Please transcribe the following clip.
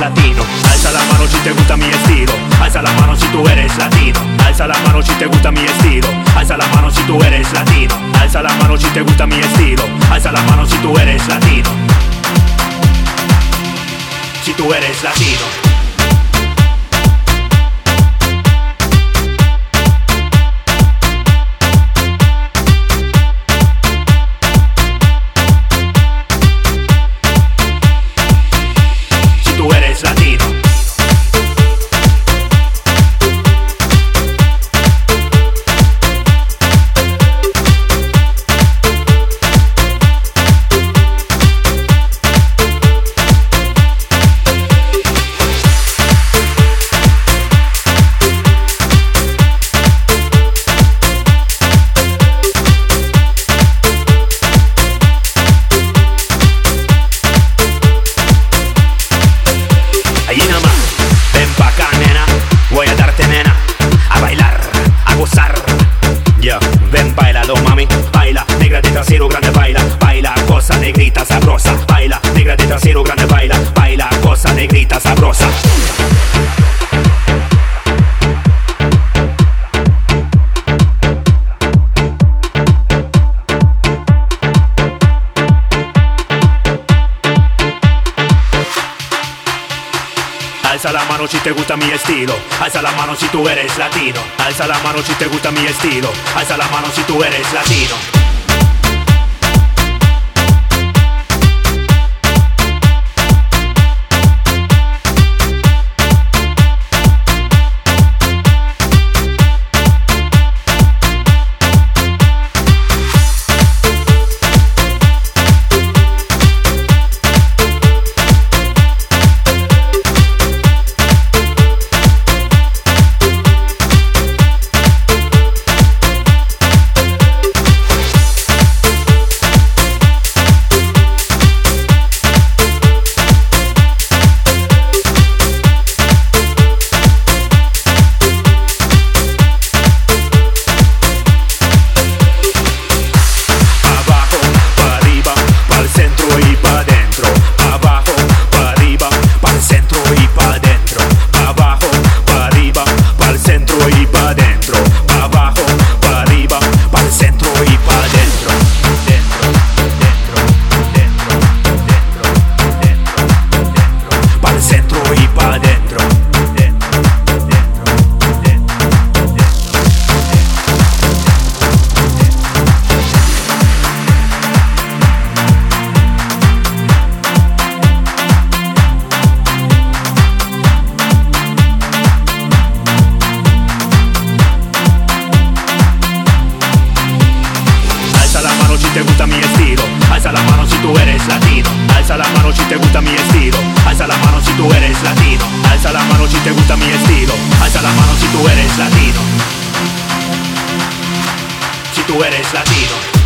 latino. Alza la mano si te gusta mi estilo. Alza la mano si tú eres latino. Alza la mano si te gusta mi estilo. Alza la mano si tú eres latino. Alza la mano si te gusta mi estilo. Alza la mano si tú eres latino. Si tú eres latino. Allí nada más, ven pa' acá, nena. Voy a darte, nena, a bailar, a gozar. Yo, ven, bailalo, mami. Baila, negra de trasero grande, baila. Baila, cosa negrita sabrosa. Baila, negra de trasero grande, baila. Baila, cosa negrita sabrosa. Alza la mano si te gusta mi estilo. Alza la mano si tú eres latino. Alza la mano si te gusta mi estilo. Alza la mano si tú eres latino. Si te gusta mi estilo, alza la mano si tú eres latino. Alza la mano si te gusta mi estilo. Alza la mano si tú eres latino. Alza la mano si te gusta mi estilo. Alza la mano si tú eres latino. Si tú eres latino.